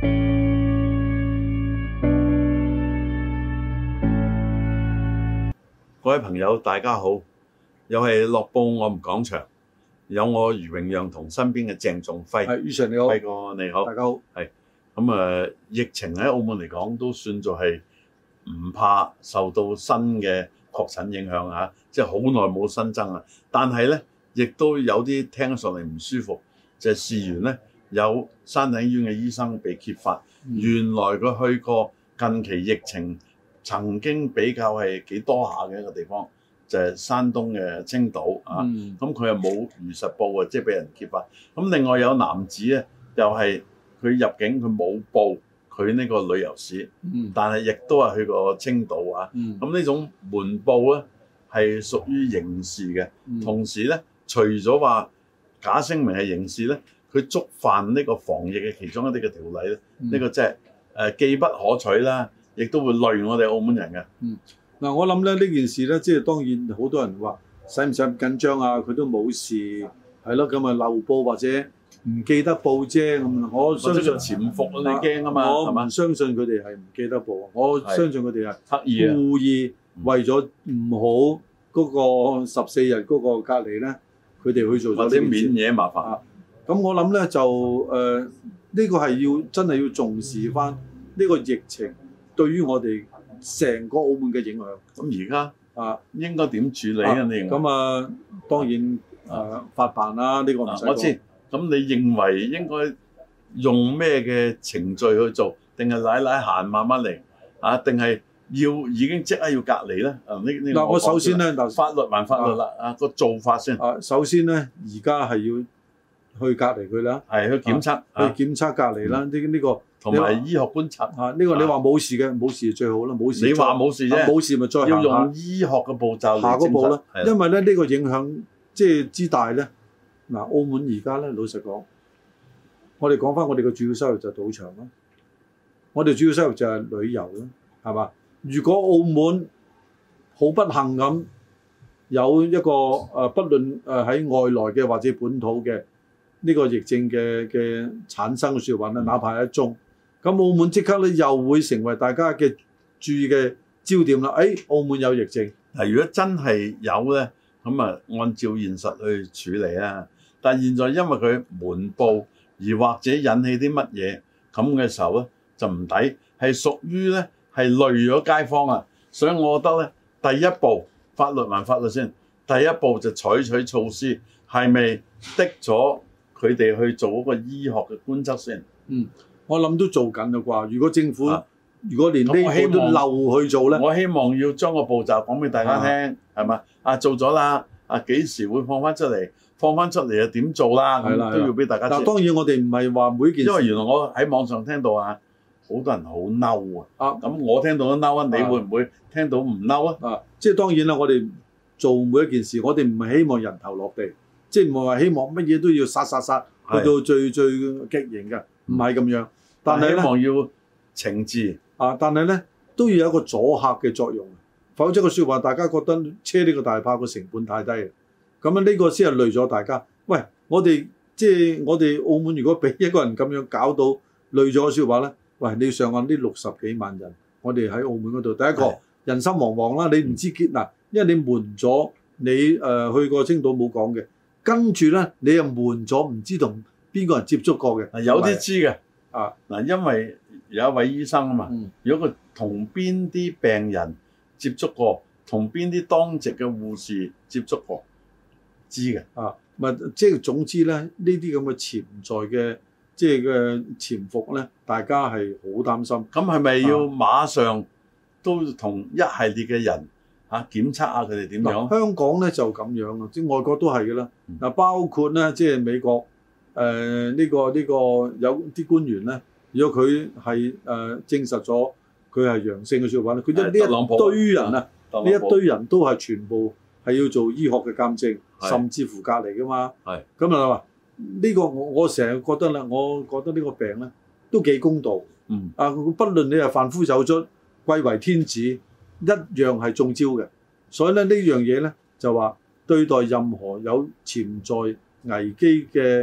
各位朋友，大家好，又係樂報我們講場，有我余榮讓同身邊嘅鄭仲輝。 係，余 Sir 你好， 輝哥你好， 大家好。 係咁疫情喺澳門嚟講都算做係唔怕受到新嘅確診影響嚇，即係好耐冇新增啦。但係咧，亦都有啲聽上嚟唔舒服，就係事緣咧有山頂醫院嘅醫生被揭發，原來佢去過近期疫情曾經比較係幾多下嘅一個地方，就係山東嘅青島啊。咁佢又冇如實報啊，即係俾人揭發。咁另外有男子咧，又係佢入境佢冇報佢呢個旅遊史，但係亦都係去過青島啊。咁呢種瞞報咧係屬於刑事嘅。同時咧，除咗話假聲明係刑事咧，佢觸犯呢個防疫嘅其中一啲嘅條例咧，呢個即係既不可取啦。亦都會累我哋澳門人嘅。 嗱，我諗咧呢件事咧，即係當然好多人話使唔使咁緊張啊？佢都冇事，係咯，咁啊漏報或者唔記得報啫。咁我相信潛伏你驚啊嘛， 我唔相信佢哋係唔記得報，我相信佢哋係刻意故意為咗唔好嗰個14日嗰個隔離咧，佢哋去做咗啲免嘢麻煩。 咁我諗咧就呢個係真係要重視翻呢個疫情對於我哋成個澳門嘅影響。 咁而家應該點處理啊？你認為？ 咁當然法辦啦，呢個唔使講。 我知。咁你認為應該用咩嘅程序去做？定係奶閒慢慢嚟啊？定係已經即刻要隔離咧？ 嗱，我首先咧， 法律還法律啦。個做法先。 首先咧，而家係要去隔離佢啦。 係去檢測。 去檢測隔離啦。呢個。 同埋醫學觀察呢個你話冇事嘅，冇事最好啦，冇事。 你話冇事啫， 冇事咪再要用醫學嘅步驟下嗰步啦。因為咧呢個影響即係之大咧。嗱，澳門而家咧老實講，我哋講翻我哋嘅主要收入就係賭場啦，我哋主要收入就係旅遊啦，係嘛？如果澳門好不幸咁有一個不論喺外來嘅或者本土嘅呢個疫症嘅產生嘅説話咧，哪怕係一宗。咁澳門即刻咧又會成為大家嘅注意嘅焦點啦。澳門有疫症。 嗱，如果真係有咧，咁按照現實去處理啦。但係現在因為佢瞞報而或者引起啲乜嘢咁嘅時候咧，就唔抵，係屬於咧係累咗街坊啊。所以我覺得咧，第一步法律還法律先，第一步就採取措施，係咪的咗佢哋去做嗰個醫學嘅觀察先？ 我諗都做緊啦啩。如果政府如果連呢個都漏去做咧， 我希望要將個步驟講俾大家聽，係嘛？做咗啦，幾時會放翻出嚟？放翻出嚟又點做啦？咁都要俾大家知。 但當然我哋唔係話每件事， 因為原來我喺網上聽到好多人好嬲啊。咁我聽到都嬲啊，你會唔會聽到唔嬲啊？ 即係當然啦，我哋做每一件事，我哋唔係希望人頭落地，即係唔係話希望乜嘢都要殺去到最極刑嘅，唔係咁樣。但係希望要懲治但係咧都要有一個阻嚇嘅作用，否則個説話大家覺得車呢個大炮個成本太低，咁呢個先係累咗大家。喂，我哋澳門如果俾一個人咁樣搞到累咗嘅説話咧，喂，你要上岸呢60幾萬人，我哋喺澳門嗰度，第一個人心惶惶啦，你唔知結嗱，因為你瞞咗你去過青島冇講嘅，跟住咧你又瞞咗唔知同邊個人接觸過嘅， 有啲知嘅。因為有一位醫生啊嘛，如果佢同邊啲病人接觸過，同邊啲當值嘅護士接觸過，知嘅。 即係總之咧，呢啲咁嘅潛在嘅即係嘅潛伏咧，大家係好擔心。 咁係咪要馬上都同一系列嘅人檢測下佢哋點樣？ 香港咧就咁樣啊，即係外國都係嘅啦。包括咧即係美國。呢個有啲官員咧，如果佢係證實咗佢係陽性嘅説話咧，佢呢一堆人呢一堆人都係全部係要做醫學嘅鑑證，甚至乎隔離噶嘛。咁話呢個我成日覺得啦，我覺得呢個病咧都幾公道。不論你係凡夫走卒、貴為天子，一樣係中招嘅。所以咧呢樣嘢咧就話對待任何有潛在危機嘅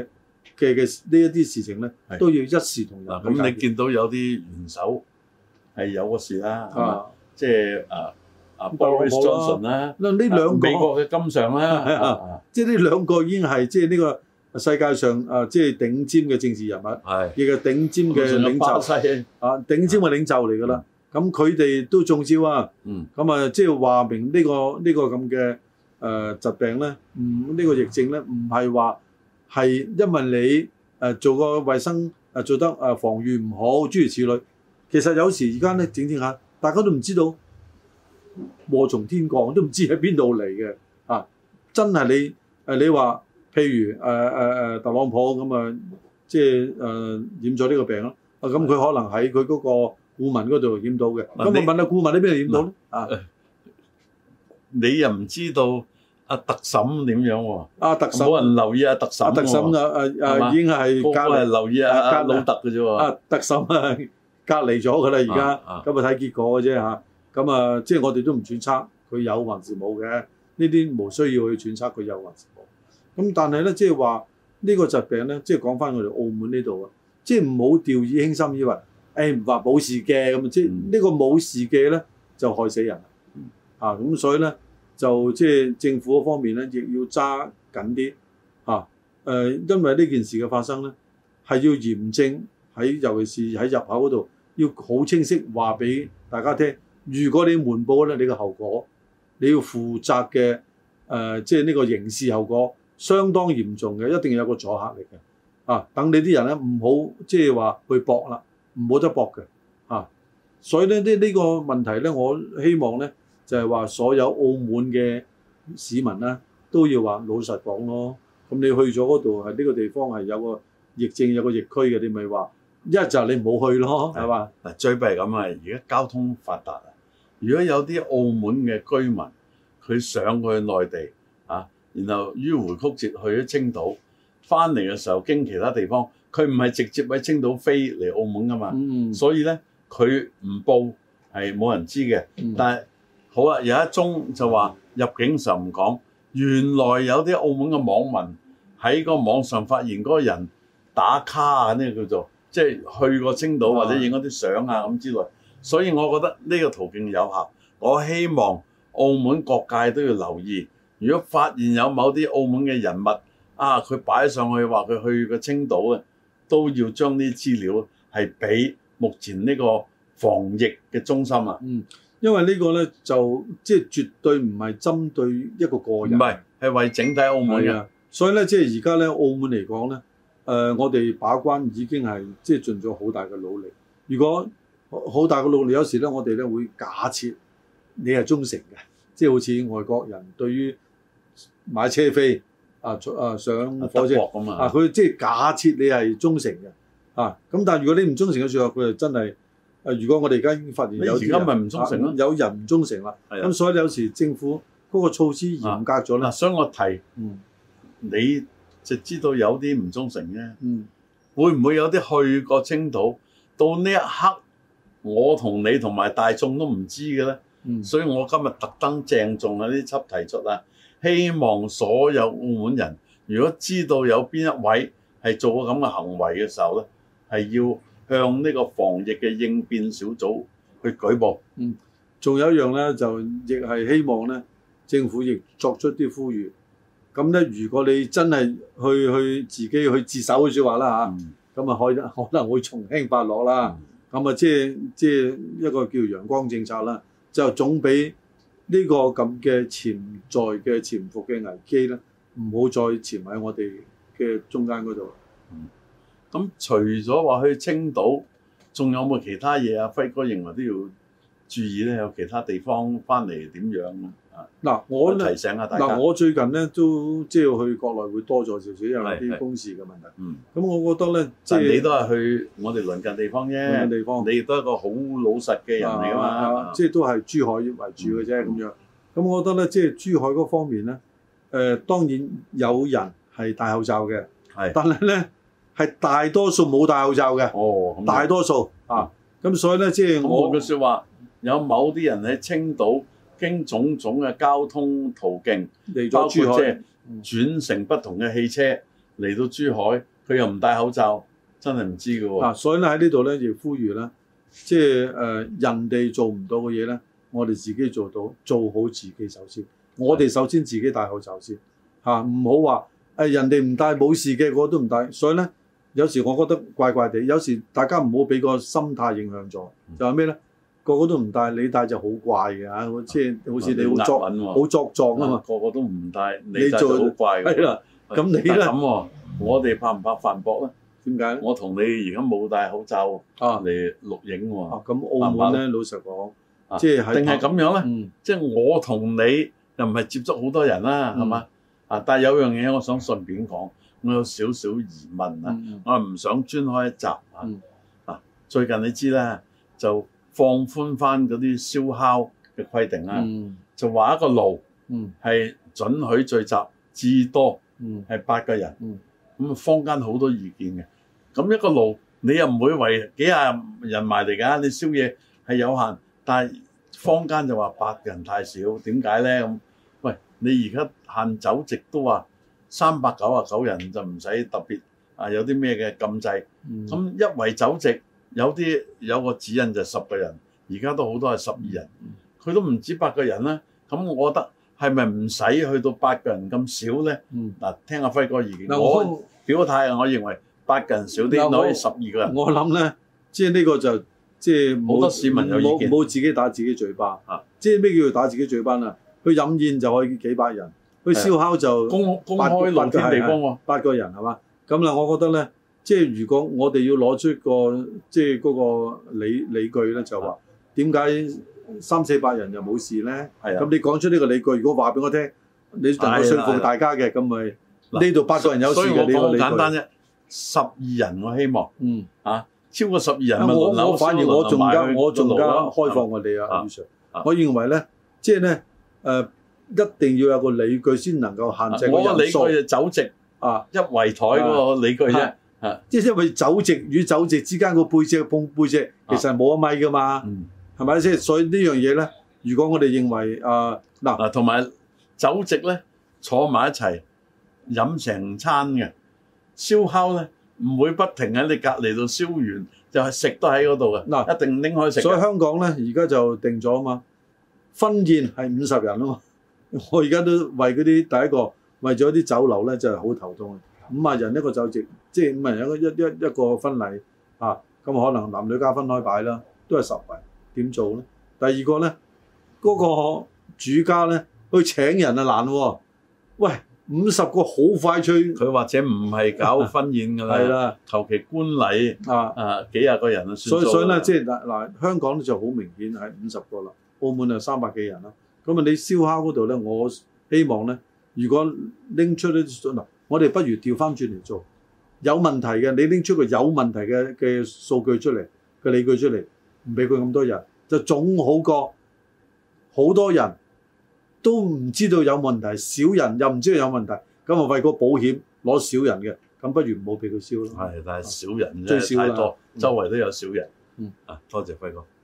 嘅呢一啲事情咧，都要一視同仁。 咁你見到有啲元首係有個事啦，即係Boris Johnson 啦， 呢兩個美國嘅金上啦， 即係呢兩個已經係即係呢個世界上即係頂尖嘅政治人物，亦係頂尖嘅領袖，頂尖嘅領袖嚟㗎啦。咁佢哋都中招啊！咁啊，即係話明呢個咁嘅疾病咧，呢個疫症咧，唔係話係因為你做個衞生做得防禦唔好，諸如此類。其實有時而家咧整下，大家都唔知道禍從天降，都唔知喺邊度嚟嘅啊！真係你話，譬如特朗普咁啊，即係染咗呢個病咯。咁佢可能喺佢嗰個顧問嗰度染到嘅。咁我問下顧問喺邊度染到咧？ 你又唔知道特審點樣喎？ 特審冇人留意特審喎。特審已經係個個係留意老特嘅啫喎。 特審隔離咗㗎啦，而家咁睇結果嘅啫嚇。咁即係我哋都唔揣測佢有還是冇嘅，呢啲無需要去揣測佢有還是冇。咁但係咧，即係話呢個疾病咧，即係講翻我哋澳門呢度啊，即係唔好掉以輕心，以為唔話冇事嘅咁，即係呢個冇事嘅咧就害死人咁所以咧就即係政府嗰方面咧，亦要揸緊啲因為呢件事嘅發生咧係要嚴正尤其是喺入口嗰度要好清晰話俾大家聽。如果你瞞報咧，你嘅後果，你要負責嘅即係呢個刑事後果相當嚴重嘅，一定要有個阻嚇力嘅等你啲人咧唔好即係話去搏啦，唔好得搏嘅所以咧呢個問題咧，我希望咧就係話所有澳門嘅市民咧都要話老實講咯。咁你去咗嗰度係呢個地方係有個疫症有個疫區嘅，你咪話一就係你唔好去咯，係嘛？ 嗱，最弊係咁啊！而家交通發達啊，如果有啲澳門嘅居民佢上去內地然後迂迴曲折去咗青島，翻嚟嘅時候經其他地方，佢唔係直接喺青島飛嚟澳門噶嘛，所以咧佢唔報係冇人知嘅。但係好啊，有一宗就話入境時候唔講，原來有啲澳門嘅網民喺個網上發現嗰個人打卡呢個叫做即係去過青島或者影嗰啲相咁之類，所以我覺得呢個途徑有效。我希望澳門各界都要留意，如果發現有某啲澳門嘅人物佢擺上去話佢去過青島嘅，都要將啲資料係俾目前呢個防疫嘅中心啊。 因為呢個咧就即係絕對唔係針對一個個人， 唔係，係為整體澳門嘅。 所以咧，即係而家咧，澳門嚟講咧，我哋把關已經係即係盡咗好大嘅努力。如果好大嘅努力，有時咧，我哋咧會假設你係忠誠嘅，即係好似外國人對於買車飛上火車咁佢即係假設你係忠誠嘅咁但係如果你唔忠誠嘅時候，佢就真係如果我哋而家已經發現有啲人咪唔忠誠咯， 有人唔忠誠啦。咁所以有時政府嗰個措施嚴格咗啦。 所以我提你就知道有啲唔忠誠啫。會唔會有啲去過青島到呢一刻，我同你同埋大眾都唔知嘅咧？所以我今日特登鄭重呢輯提出希望所有澳門人，如果知道有邊一位係做過咁嘅行為嘅時候咧，係要向呢個防疫嘅應變小組去舉報。 仲有一樣咧，就亦係希望咧，政府亦作出啲呼籲。咁咧，如果你真係去自己去自首嘅説話啦咁可能會從輕發落啦。咁即係一個叫陽光政策啦，就總比呢個咁嘅潛在嘅潛伏嘅危機咧，唔好再潛喺我哋嘅中間嗰度。 咁除咗話去青島，仲有冇其他嘢輝哥認為都要注意咧？有其他地方翻嚟點樣我提醒下大家。 我最近咧都即係去國內會多咗少少，因為啲公事嘅問題。咁我覺得咧，即係你都係去我哋鄰近地方啫。你亦都係一個好老實嘅人嚟㗎嘛。 即係都係珠海為主嘅啫咁樣。咁我覺得咧，即係珠海嗰方面咧，當然有人係戴口罩嘅，但係咧係大多數冇戴口罩嘅。大多數咁所以咧，即係我嘅説話，有某啲人喺青島經種種嘅交通途徑嚟咗珠海，轉乘不同嘅汽車嚟到珠海， 佢又唔戴口罩，真係唔知㗎喎。 所以咧喺呢度咧，亦呼籲咧，即係人哋做唔到嘅嘢咧，我哋自己做到，做好自己首先。我哋首先自己戴口罩先唔好話人哋唔戴冇事嘅，我都唔戴。所以咧，有時我覺得怪怪地，有時大家唔好俾個心態影響咗，就係咩咧？個個都唔戴，你戴就好怪嘅嚇，即係好似你好作狀啊嘛。個個都唔戴，你戴就好怪嘅。 係啦，咁你咧咁喎，我哋怕唔怕反駁咧？ 點解？ 我同你而家冇戴口罩嚟錄影喎。 咁澳門咧，老實講，即係定係咁樣咧？即係我同你又唔係接觸好多人啦，係嘛？但係有樣嘢我想順便講，我有少少疑問啊，我係唔想專開一集最近你知啦，就放寬翻嗰啲燒烤嘅規定啦，就話一個爐係准許聚集至多係8個人，咁坊間好多意見嘅。咁一個爐你又唔會為幾廿人埋嚟㗎，你燒嘢係有限，但係坊間就話8個人太少，點解咧咁？喂，你而家限酒席都話399人就唔使特別有啲咩嘅禁制，咁一圍酒席有個指引就10個人，而家都好多係12人，佢都唔止8個人啦。咁我覺得係咪唔使去到8個人咁少咧？聽阿輝哥意見，我表個態，我認為8個人少啲，可以12個人。我諗咧，即係呢個就即係好多市民有意見，冇自己打自己嘴巴即係咩叫做打自己嘴巴啊？去飲宴就可以幾百人，去燒烤就公開露天地方喎，8個人係嘛？咁啦，我覺得咧，即係如果我哋要攞出個即係嗰個理據咧，就話點解300-400人就冇事咧？咁你講出呢個理據，如果話俾我聽，你能夠說服大家嘅，咁咪呢度8個人有事嘅呢個理據。所以我講簡單啫，12人我希望超過12人咪輪流。我反而我仲加開放我哋啊，余 Sir，我認為咧，即係咧一定要有個理據先能夠限制個人數。我個理據就酒席一圍台嗰個理據啫。即係因為酒席與酒席之間個背脊碰背脊，其實係冇1米噶嘛，係咪先？所以呢樣嘢咧，如果我哋認為嗱同埋酒席咧坐埋一齊飲成餐嘅，燒烤咧唔會不停喺你隔離度燒完，就係食都喺嗰度嘅。一定拎開食。所以香港咧而家就定咗啊嘛，婚宴係50人啊嘛。我而家都為嗰啲第一個為咗啲酒樓咧就係好頭痛，50人一個酒席，即係50人一個婚禮咁可能男女家分開擺啦，都係10圍，點做咧？第二個咧，嗰個主家咧去請人難喎，喂，50個好快脆，佢或者唔係搞婚宴㗎啦，係啦，求其觀禮幾廿個人啊，所以咧即係嗱香港就好明顯係50個啦，澳門就300幾人啦。咁你燒烤嗰度咧，我希望咧，如果拎出啲我哋不如調翻轉嚟做，有問題嘅，你拎出個有問題嘅數據出嚟，嘅理據出嚟，唔俾佢咁多人，就總好過好多人都唔知道有問題，少人又唔知道有問題，咁啊為個保險攞少人嘅，咁不如唔好俾佢燒咯。係，但係少人真係太多，周圍都有少人。多謝輝哥。